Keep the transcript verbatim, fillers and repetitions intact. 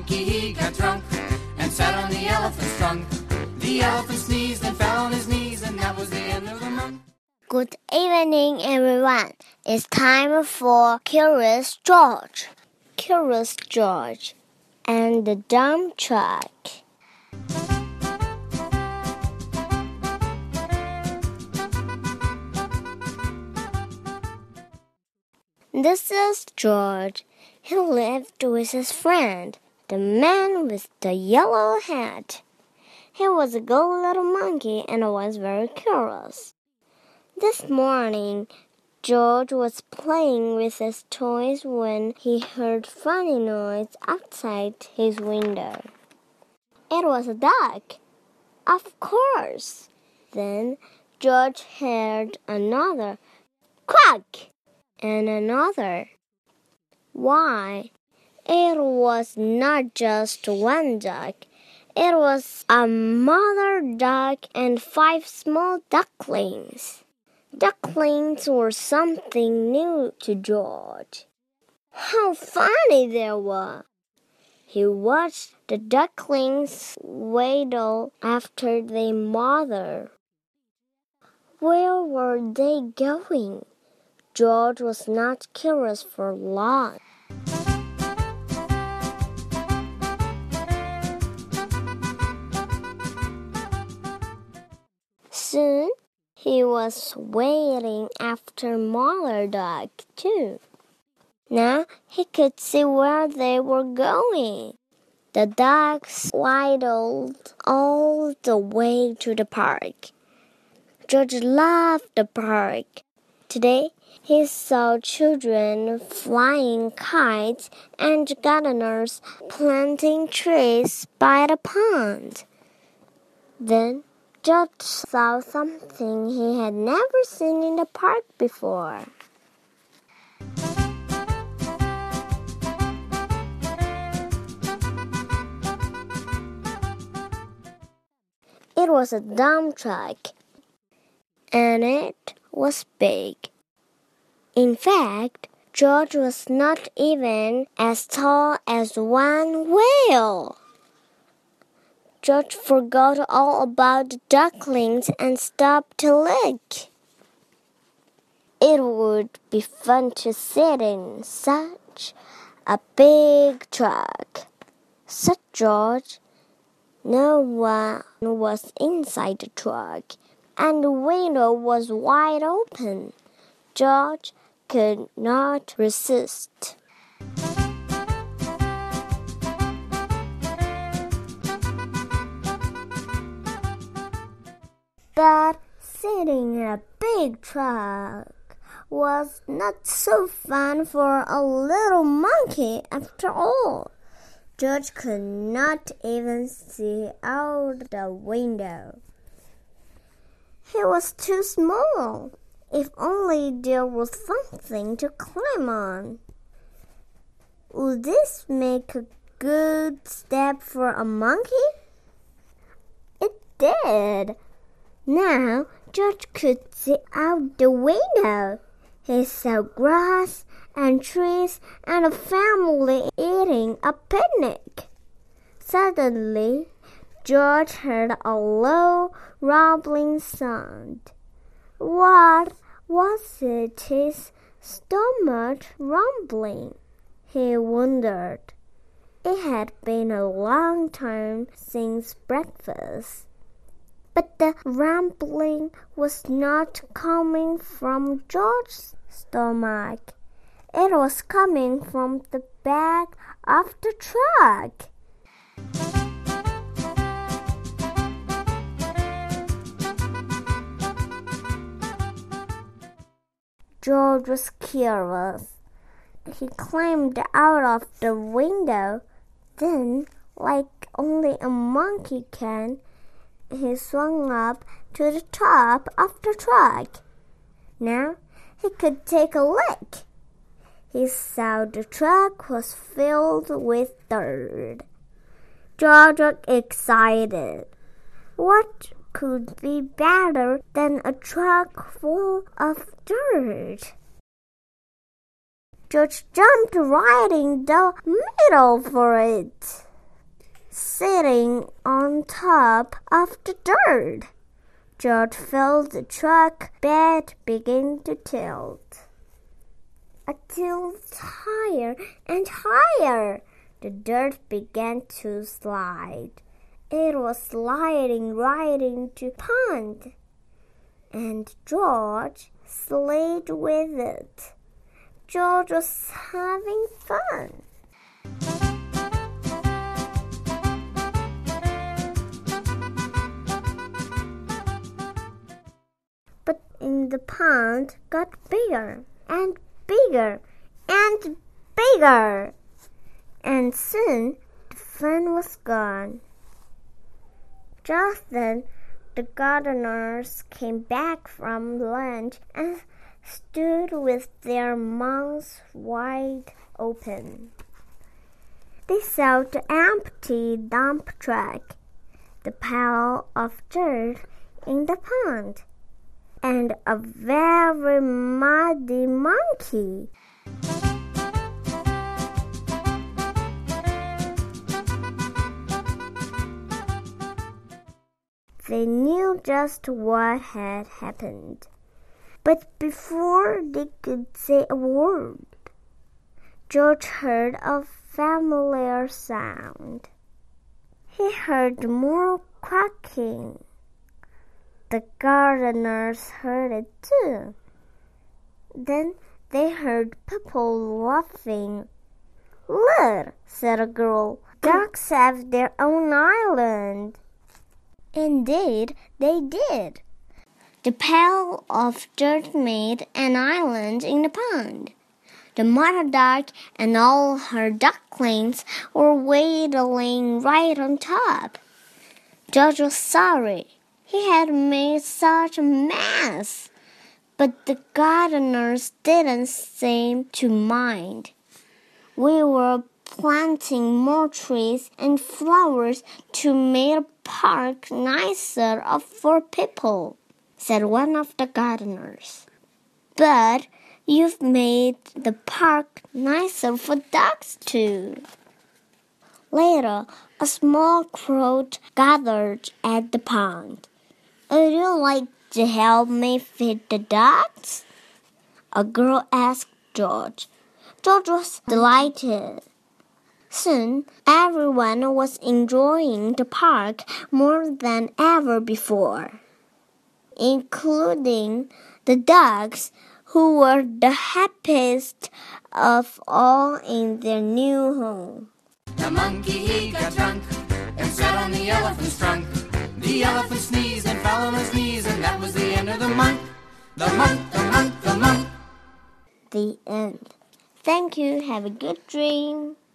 monkey, he got drunk and sat on the elephant's trunk. The elephant sneezed and fell on his knees, and that was the end of the month. Good evening, everyone. It's time for Curious George. Curious George and the Dump Truck. This is George. He lived with his friend, the man with the yellow hat. He was a good little monkey and was very curious. This morning, George was playing with his toys when he heard funny noise outside his window. It was a duck. Of course. Then George heard another quack and another. Why, it was not just one duck. It was a mother duck and five small ducklings. Ducklings were something new to George. How funny they were! He watched the ducklings waddle after their mother. Where were they going? George was not curious for long. Soon, he was waiting after Mother Duck, too. Now he could see where they were going. The ducks waddled all the way to the park. George loved the park. Today, he saw children flying kites and gardeners planting trees by the pond. Then, George saw something he had never seen in the park before. It was a dump truck, and it was big. In fact, George was not even as tall as one whale. George forgot all about the ducklings and stopped to look. It would be fun to sit in such a big truck, said George. No one was inside the truck, and the window was wide open. George could not resist. But sitting in a big truck was not so fun for a little monkey after all. George could not even see out the window. He was too small. If only there was something to climb on. Would this make a good step for a monkey? It did. Now George could see out the window. He saw grass and trees and a family eating a picnic. Suddenly, George heard a low, rumbling sound. What was it his stomach rumbling? He wondered. It had been a long time since breakfast. But the rumbling was not coming from George's stomach. It was coming from the back of the truck. George was curious. He climbed out of the window. Then, like only a monkey can, he swung up to the top of the truck. Now he could take a look. He saw the truck was filled with dirt. George was excited. What could be better than a truck full of dirt? George jumped right in the middle for it. sitting on top of the dirt. George felt the truck bed begin to tilt until higher and higher. The dirt began to slide. It was sliding right into the pond, and George slid with it. George was having fun. But in the pond got bigger and bigger and bigger, and soon the fun was gone. Just then, the gardeners came back from lunch and stood with their mouths wide open. They saw the empty dump truck, the pile of dirt in the pond, and a very muddy monkey. They knew just what had happened. But before they could say a word, George heard a familiar sound. He heard more quacking. The gardeners heard it too. Then they heard people laughing. "Look," said a girl, "ducks have their own island." Indeed, they did. The pile of dirt made an island in the pond. The mother duck and all her ducklings were waddling right on top. George was sorry. He had made such a mess. But the gardeners didn't seem to mind. We were planting more trees and flowers to make the park nicer for people, said one of the gardeners. But you've made the park nicer for ducks too. Later, a small crowd gathered at the pond. "Would you like to help me feed the ducks?" a girl asked George. George was delighted. Soon, everyone was enjoying the park more than ever before, including the ducks, who were the happiest of all in their new home. The monkey, he got drunk and sat on the elephant's trunk. The elephant sneezed and fell on his knees, and that was the end of the month. The month, the month, the month. The end. Thank you. Have a good dream.